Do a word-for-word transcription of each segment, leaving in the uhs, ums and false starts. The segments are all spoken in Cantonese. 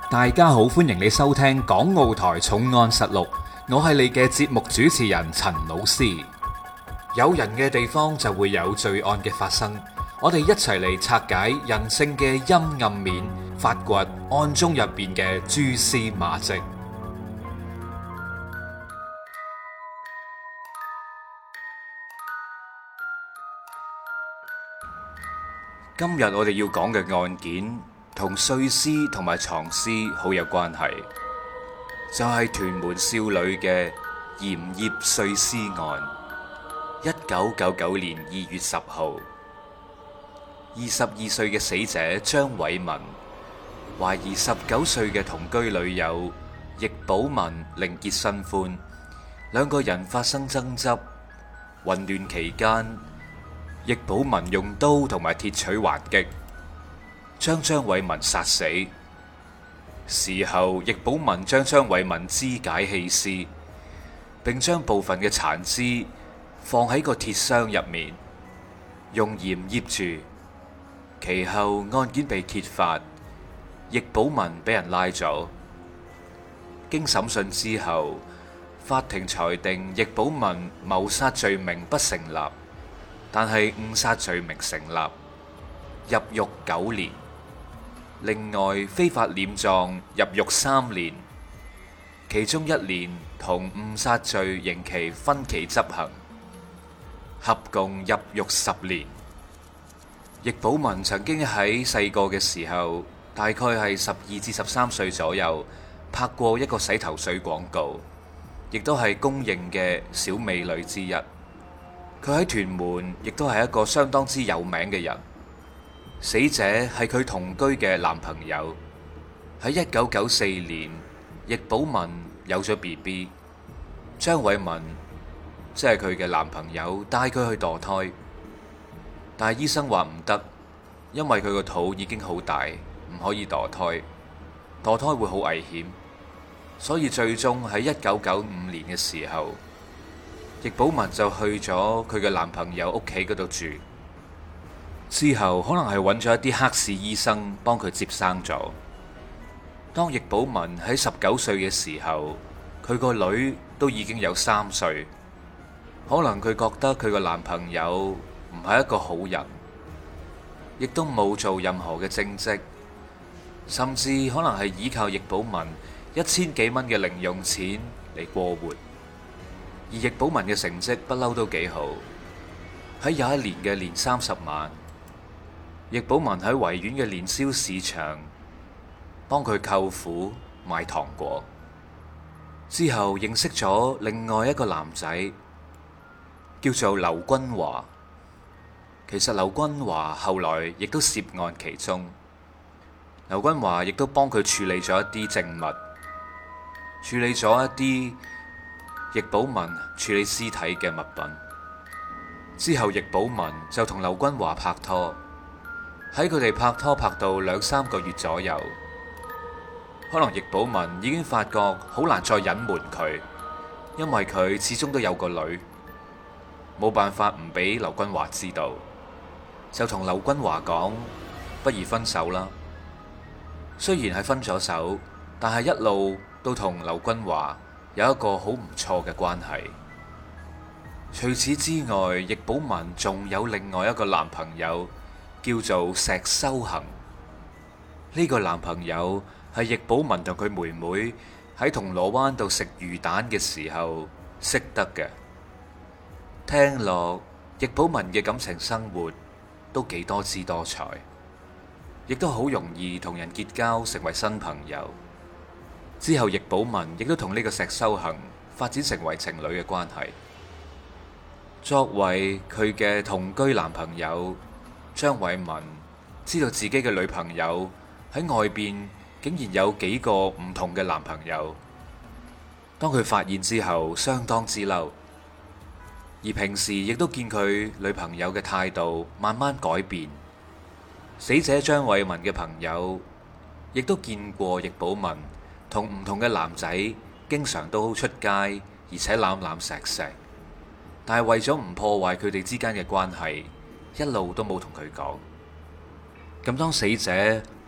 大家好，歡迎你收聽《港澳台重案實錄》，我係你嘅節目主持人陳老師。有人嘅地方就會有罪案嘅發生，我哋一齊嚟拆解人性嘅陰暗面，發掘案中入邊嘅蛛絲馬跡。今日我哋要講嘅案件同碎屍同埋藏屍好有關係，就係屯門少女嘅鹽業碎屍案。一九九九年二月十號，二十二歲嘅死者張偉文懷疑十九歲嘅同居女友易寶文另結新歡，兩個人發生爭執，混亂期間，易寶文用刀同埋鐵錘還擊，將張偉文殺死。事後，易寶文將張偉文肢解棄屍，並將部分嘅殘肢放喺個鐵箱入面，用鹽醃住。其後案件被揭發，易寶文俾人拉咗。經審訊之後，法庭裁定易寶文謀殺罪名不成立，但係誤殺罪名成立，入獄九年。另外，非法殮葬入獄三年，其中一年同誤殺罪刑期分期執行，合共入獄十年。易寶文曾經喺細個嘅時候，大概係十二至十三歲左右，拍過一個洗頭水廣告，亦都係公認嘅小美女之一。佢喺屯門亦都係一個相當之有名嘅人。死者係佢同居嘅男朋友。喺一九九四年，易寶文有咗 B B， 張偉文即係佢嘅男朋友帶佢去墮胎，但係醫生話唔得，因為佢個肚已經好大，唔可以墮胎，墮胎會好危險，所以最終喺一九九五年嘅時候，易寶文就去咗佢嘅男朋友屋企嗰度住。之後可能係揾咗一啲黑市醫生幫佢接生咗。當易寶文喺十九歲嘅時候，佢個女都已經有三歲。可能佢覺得佢個男朋友唔係一個好人，亦都冇做任何嘅正職，甚至可能係依靠易寶文一千幾蚊嘅零用錢嚟過活。而易寶文嘅成績不嬲都幾好。喺有一年嘅年三十晚，易寶文喺維園嘅年宵市場幫佢舅父買糖果，之後認識咗另外一個男仔，叫做劉君華。其實劉君華後來亦都涉案其中，劉君華亦都幫佢處理咗一啲證物，處理咗一啲易寶文處理屍體嘅物品。之後易寶文就同劉君華拍拖。喺佢哋拍拖拍到兩三個月左右，可能易寶文已經發覺好難再隱瞞佢，因為佢始終都有個女，冇辦法唔俾劉君華知道，就同劉君華講，不如分手啦。雖然係分咗手，但係一路都同劉君華有一個好唔錯嘅關係。除此之外，易寶文仲有另外一個男朋友，叫做石修恒。呢個男朋友係易寶文同佢妹妹喺銅鑼灣度食魚蛋嘅時候識得嘅。聽落易寶文嘅感情生活都幾多姿多彩，亦都好容易同人結交成為新朋友。之後易寶文亦都同呢個石修恒發展成為情侶嘅關係。作為佢嘅同居男朋友，張偉文知道自己嘅女朋友喺外邊竟然有幾個唔同嘅男朋友。當佢發現之後，相當之嬲，而平時亦都見佢女朋友嘅態度慢慢改變。死者張偉文嘅朋友亦都見過易寶文同唔同嘅男仔經常都出街，而且攬攬錫錫，但係為咗唔破壞佢哋之間嘅關係，一路都冇同佢講。咁當死者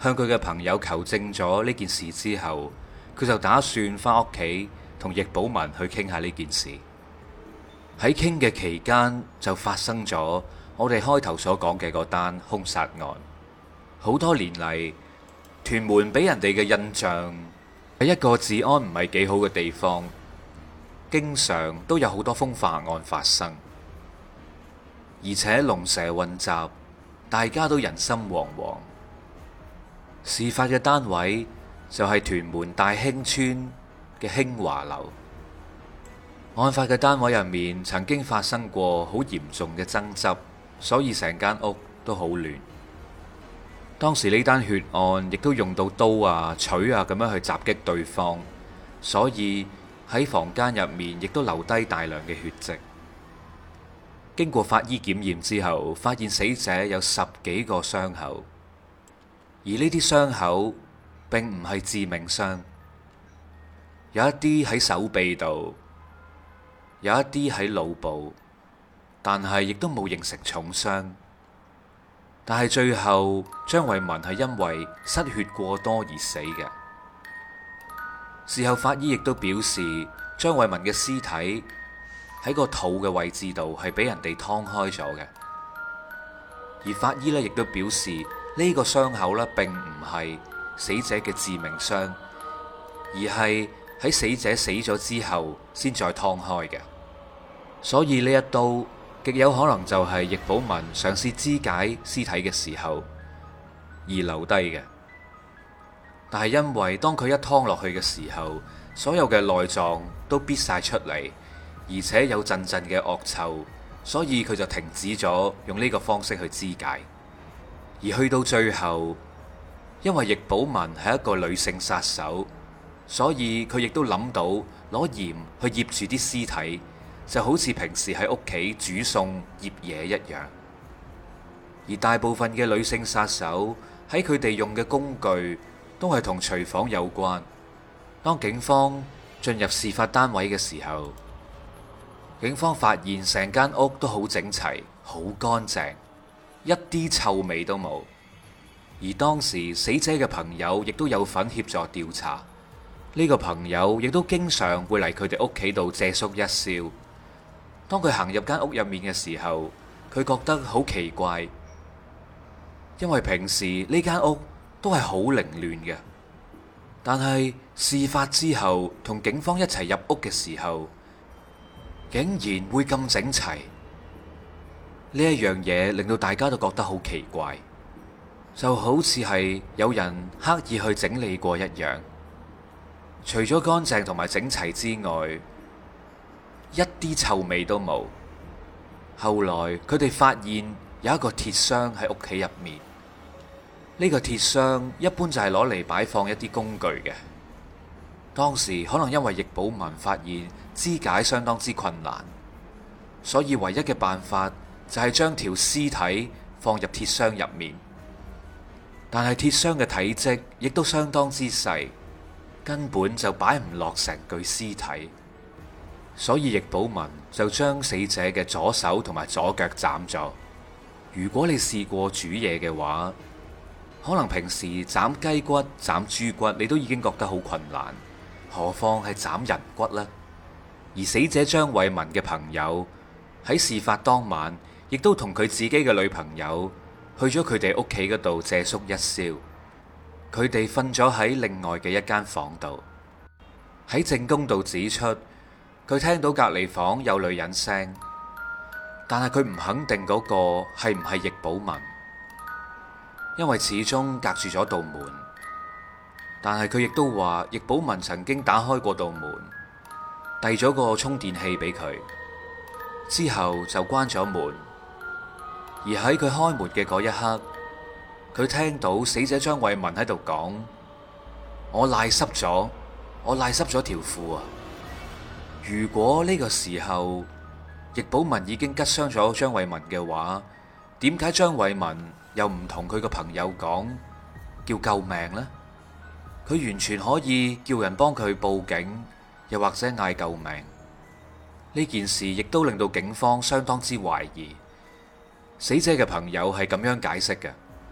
向佢嘅朋友求證咗呢件事之後，佢就打算翻屋企同易寶文去傾下呢件事。喺傾嘅期間就發生咗我哋開頭所講嘅嗰單兇殺案。好多年嚟，屯門俾人哋嘅印象係一個治安唔係幾好嘅地方，經常都有好多風化案發生，而且龍蛇混雜，大家都人心惶惶。事發嘅單位就係屯門大興村嘅興華樓。案發嘅單位入面曾經發生過好嚴重嘅爭執，所以成間屋都好亂。當時呢單血案亦都用到刀啊、錘啊咁樣去襲擊對方，所以喺房間入面亦都留低大量嘅血跡。經過法醫檢驗之後，發現死者有十幾個傷口，而呢啲傷口並唔係致命傷，有一啲喺手臂度，有一啲喺腦部，但係亦都冇形成重傷。但係最後張慧文係因為失血過多而死嘅。事後法醫亦都表示，張慧文嘅屍體喺個肚嘅位置度係俾人哋劏開咗嘅。而法醫咧亦都表示，呢個傷口咧並唔係死者嘅致命傷，而係喺死者死咗之後先再劏開嘅。所以呢一刀極有可能就係易寶文嘗試肢解屍體嘅時候而留低嘅。但係因為當佢一劏落去嘅時候，所有嘅內臟都逼晒出嚟，而且有陣陣嘅惡臭，所以佢就停止咗用呢個方式去肢解。而去到最後，因為易寶文係一個女性殺手，所以佢亦都諗到攞鹽去醃住啲屍體，就好似平時喺屋企煮餸醃嘢一樣。而大部分嘅女性殺手喺佢哋用嘅工具都係同廚房有關。當警方進入事發單位嘅時候，警方發現成間屋都好整齊、好乾淨，一啲臭味都冇。而當時死者嘅朋友亦都有份協助調查，呢個朋友亦都經常會嚟佢哋屋企度借宿一宵。當佢行入間屋入面嘅時候，佢覺得好奇怪，因為平時呢間屋都係好凌亂嘅，但係事發之後同警方一齊入屋嘅時候，竟然會咁整齊。呢一樣嘢令到大家都覺得好奇怪，就好似係有人刻意去整理過一樣。除咗乾淨同埋整齊之外，一啲臭味都冇。後來佢哋發現有一個鐵箱喺屋企入面，呢個鐵箱一般就係攞嚟擺放一啲工具嘅。當時可能因為易寶文發現肢解相當之困難，所以唯一嘅辦法就係將條屍體放入鐵箱入面。但係鐵箱嘅體積亦都相當之細，根本就擺唔落成具屍體。所以易寶文就將死者嘅左手同埋左腳斬咗。如果你試過煮嘢嘅話，可能平時斬雞骨、斬豬骨你都已經覺得好困難，何況係斬人骨呢？而死者張慧文嘅朋友喺事發當晚亦都同佢自己嘅女朋友去咗佢哋屋企嗰度借宿一宵。佢哋瞓咗喺另外嘅一間房度。喺證供度指出，佢聽到隔離房有女人聲，但係佢唔肯定嗰個係唔係易寶文，因為始終隔住咗道門。但係佢亦都話易寶文曾經打開過道門，遞咗個充電器俾佢，之後就關咗門。而喺佢開門嘅嗰一刻，佢聽到死者張慧文喺度講：我瀨濕咗，我瀨濕咗條褲啊！如果呢個時候易寶文已經拮傷咗張慧文嘅話，點解張慧文又唔同佢個朋友講叫救命呢？佢完全可以叫人幫佢報警，又或者嗌救命。呢件事亦都令到警方相當之懷疑。死者嘅朋友係咁樣解釋嘅：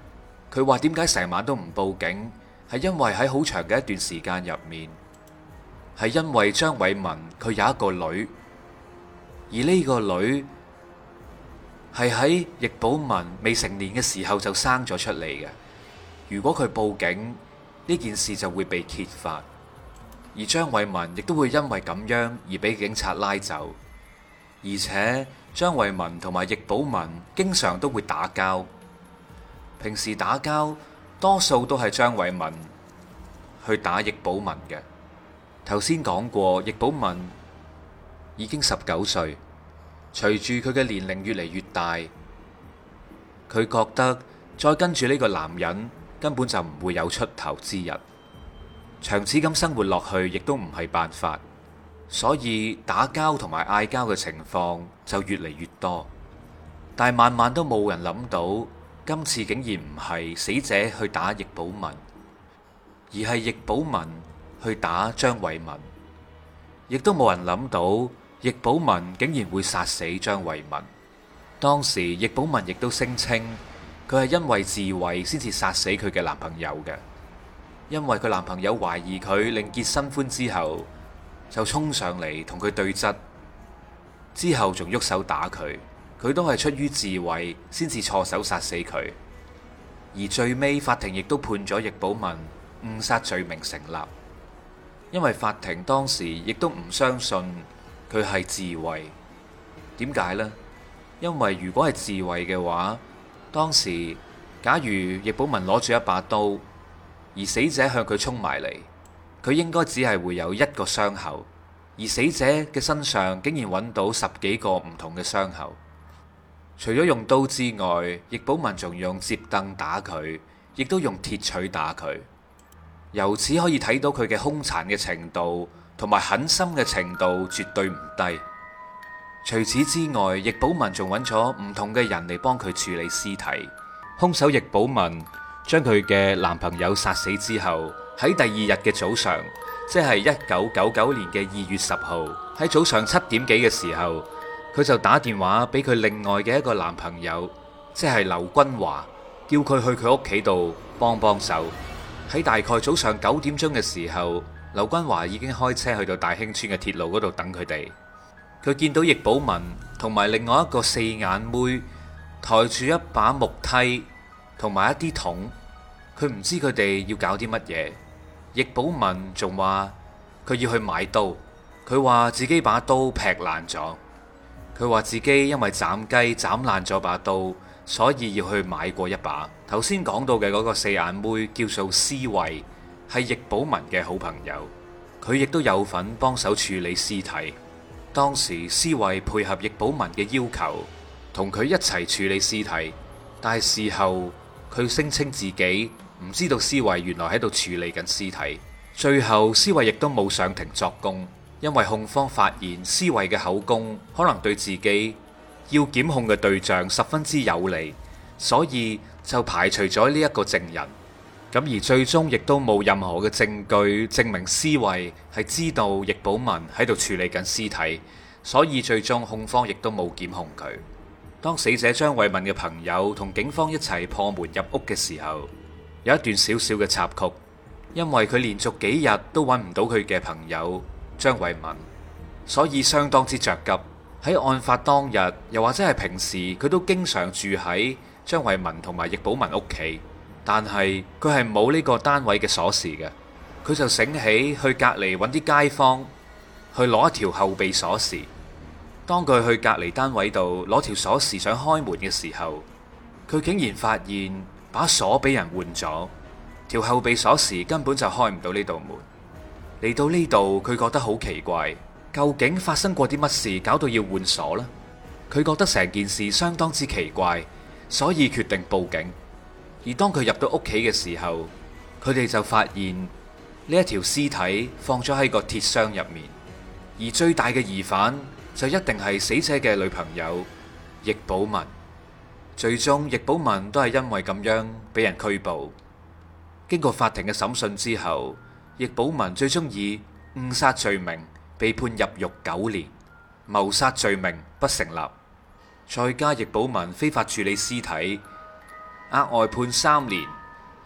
佢話點解成晚都唔報警，係因為喺好長嘅一段時間入面，係因為張偉文佢有一個女，而呢個女係喺易寶文未成年嘅時候就生咗出嚟嘅。如果佢報警，呢件事就會被揭發，而張偉文亦都會因為咁樣而俾警察拉走。而且張偉文同埋易寶文經常都會打交，平時打交多數都係張偉文去打易寶文嘅。頭先講過，易寶文已經十九歲，隨住佢嘅年齡越嚟越大，佢覺得再跟住呢個男人根本就唔會有出頭之日，長此咁生活落去亦都唔係辦法，所以打交同埋嗌交嘅情況就越嚟越多。但係萬萬都冇人諗到，今次竟然唔係死者去打易寶文，而係易寶文去打張偉文。亦都冇人諗到易寶文竟然會殺死張偉文。當時易寶文亦都聲稱佢係因為自衛先至殺死佢嘅男朋友嘅，因為佢男朋友懷疑佢另結新歡之後就衝上嚟同佢對質，之後仲喐手打佢，佢都係出於自衛先至錯手殺死佢。而最尾法庭亦都判咗易寶文誤殺罪名成立，因為法庭當時亦都唔相信佢係自衛。點解呢？因為如果係自衛嘅話，當時假如易寶文攞住一把刀，而死者向佢衝埋嚟，佢應該只係會有一個傷口，而死者嘅身上竟然揾到十幾個唔同嘅傷口。除咗用刀之外，易寶文仲用摺凳打佢，亦都用鐵錘打佢。由此可以睇到佢嘅兇殘嘅程度同埋狠心嘅程度絕對唔低。除此之外，易寶文仲揾咗唔同嘅人嚟幫佢處理屍體。兇手易寶文將佢嘅男朋友殺死之後，喺第二日嘅早上，即係一九九九年嘅二月十號，喺早上七點幾嘅時候，佢就打電話俾佢另外嘅一個男朋友，即係劉君華，叫佢去佢屋企度幫幫手。喺大概早上九點鐘嘅時候，劉君華已經開車去到大興村嘅鐵路嗰度等佢哋。佢見到易寶文同埋另外一個四眼妹抬住一把木梯同埋一啲桶，佢唔知佢哋要搞啲乜嘢。易寶文仲話佢要去買刀，佢話自己把刀劈爛咗，佢話自己因為斬雞斬爛咗把刀，所以要去買過一把。頭先講到嘅嗰個四眼妹叫做施慧，係易寶文嘅好朋友，佢亦都有份幫手處理屍體。當時施慧配合易寶文嘅要求，同佢一齊處理屍體，但係事後佢聲稱自己唔知道施慧原來喺度處理緊屍體。最後施慧亦都冇上庭作供，因為控方發現施慧嘅口供可能對自己要檢控嘅對象十分之有利，所以就排除咗呢一個證人。咁而最終亦都冇任何嘅證據證明施慧係知道易寶文喺度處理緊屍體，所以最終控方亦都冇檢控佢。當死者張偉文嘅朋友同警方一齊破門入屋嘅時候，有一段小小嘅插曲，因為佢連續幾日都揾唔到佢嘅朋友張偉文，所以相當之着急。喺案發當日，又或者係平時，佢都經常住喺張偉文同埋易寶文屋企。但係佢係冇呢個單位嘅鎖匙嘅，佢就醒起去隔離揾啲街坊去攞一條後備鎖匙。當佢去隔離單位度攞條鎖匙想開門嘅時候，佢竟然發現把鎖俾人換咗，條後備鎖匙根本就開唔到呢道門。嚟到呢度，佢覺得好奇怪，究竟發生過啲乜事搞到要換鎖呢？佢覺得成件事相當之奇怪，所以決定報警。而當佢入到屋企嘅時候，佢哋就發現呢一條屍體放咗喺個鐵箱入面，而最大嘅疑犯就一定係死者嘅女朋友易寶文。最終易寶文都係因為咁樣俾人拘捕。經過法庭嘅審訊之後，易寶文最終以誤殺罪名被判入獄九年，謀殺罪名不成立，再加易寶文非法處理屍體，額外判三年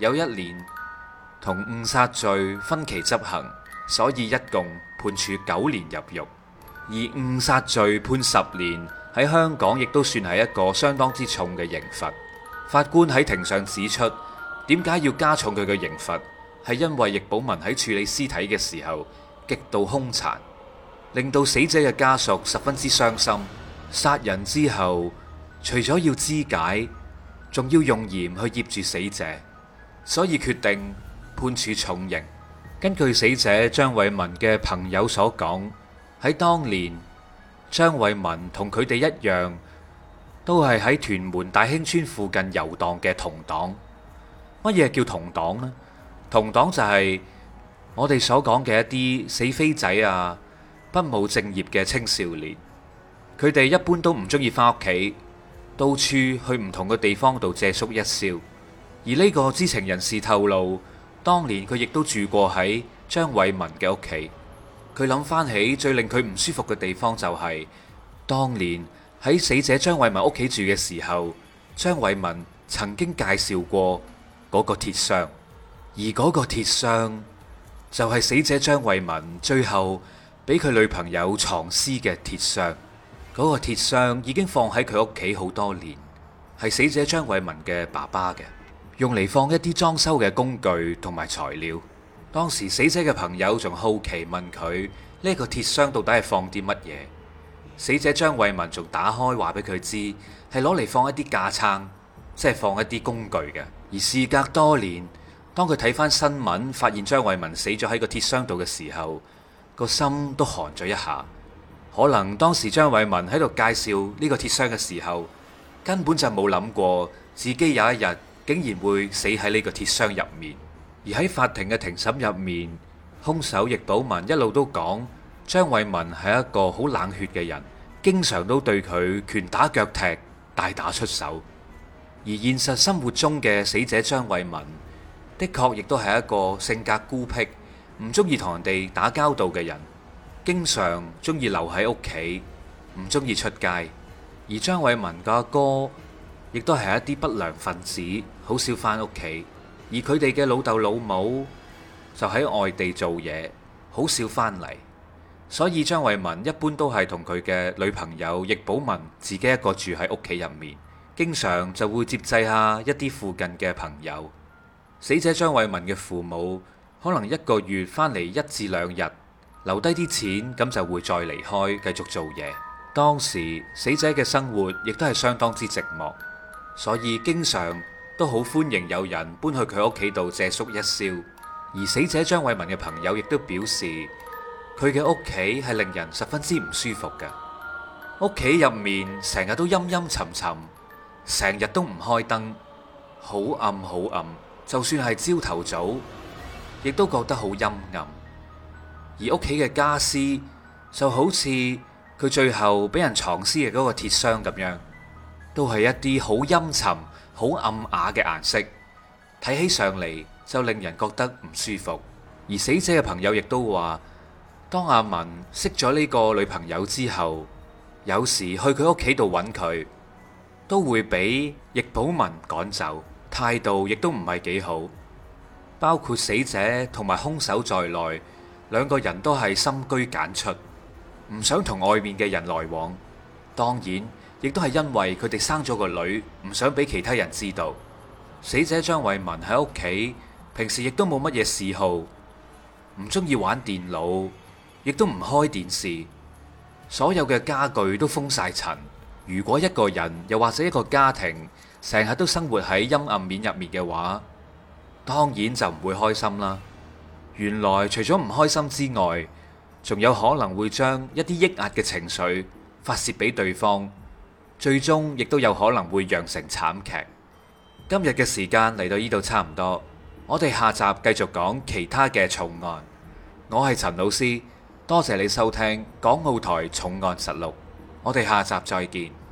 有一年同誤殺罪分期執行，所以一共判處九年入獄。而誤殺罪判十年，喺香港亦都算係一個相當之重嘅刑罰。法官喺庭上指出，點解要加重佢嘅刑罰，係因為易寶文喺處理屍體嘅時候極度兇殘，令到死者嘅家屬十分之傷心。殺人之後，除咗要肢解，仲要用鹽去醃住死者，所以決定判處重刑。根據死者張偉文嘅朋友所講，喺當年張偉文同佢哋一樣，都係喺屯門大興村附近遊蕩嘅同黨。乜嘢叫同黨呢？同黨就係我哋所講嘅一啲死飛仔啊，不務正業嘅青少年。佢哋一般都唔中意翻屋企，到處去唔同嘅地方度借宿一宵。而呢個知情人士透露，當年佢亦都住過喺張偉文嘅屋企。佢諗翻起最令佢唔舒服嘅地方就係，當年喺死者張偉文屋企住嘅時候，張偉文曾經介紹過嗰個鐵箱，而嗰個鐵箱就係死者張偉文最後俾佢女朋友藏屍嘅鐵箱。嗰個鐵箱已經放喺佢屋企好多年，係死者張偉文嘅爸爸嘅，用嚟放一啲裝修嘅工具同埋材料。當時死者嘅朋友仲好奇問佢呢個鐵箱到底係放啲乜嘢？死者張偉文仲打開話俾佢知係攞嚟放一啲架撐，即係放一啲工具嘅。而事隔多年，當佢睇翻新聞，發現張偉文死咗喺個鐵箱度嘅時候，個心都寒咗一下。可能當時張偉文喺度介紹呢個鐵箱嘅時候，根本就冇諗過自己有一日竟然會死喺呢個鐵箱入面。而喺法庭嘅庭審入面，兇手易寶文一路都講張偉文係一個好冷血嘅人，經常都對佢拳打腳踢、大打出手。而現實生活中嘅死者張偉文，的確亦都係一個性格孤僻、唔中意同人哋打交道嘅人。經常中意留喺屋企，唔中意出街。而張偉文嘅阿哥亦都係一啲不良分子，好少返屋企。而佢哋嘅老豆老母就喺外地做嘢，好少返嚟。所以張偉文一般都係同佢嘅女朋友易寶文自己一個住喺屋企入面，經常就會接濟下一啲附近嘅朋友。死者張偉文嘅父母可能一個月返嚟一至兩日，留低啲錢，咁就會再離開繼續做嘢。當時死者嘅生活亦都係相當之寂寞，所以經常都好歡迎有人搬去佢屋企度借宿一宵。而死者張偉文嘅朋友亦都表示，佢嘅屋企係令人十分之唔舒服嘅。屋企入面成日都陰陰沉沉，成日都唔開燈，好暗好暗，就算係朝頭早亦都覺得好陰暗。而屋企嘅家私就好似佢最後俾人藏屍嘅嗰個鐵箱咁樣，都係一啲好陰沉、好暗啞嘅顏色，睇起上嚟就令人覺得唔舒服。而死者嘅朋友亦都話，當阿文識咗呢個女朋友之後，有時去佢屋企度揾佢，都會俾易寶文趕走，態度亦都唔係幾好。包括死者同埋兇手在內，兩個人都係深居簡出，唔想同外面嘅人來往。當然，亦都係因為佢哋生咗個女，唔想俾其他人知道。死者張偉文喺屋企平時亦都冇乜嘢嗜好，唔中意玩電腦，亦都唔開電視，所有嘅家具都封晒塵。如果一個人又或者一個家庭成日都生活喺陰暗面入面嘅話，當然就唔會開心啦。原來除咗唔開心之外，仲有可能會將一啲抑壓嘅情緒發洩俾對方，最終亦都有可能會釀成慘劇。今日嘅時間嚟到呢度差唔多，我哋下集繼續講其他嘅重案。我係陳老師，多謝你收聽港澳台重案實錄，我哋下集再見。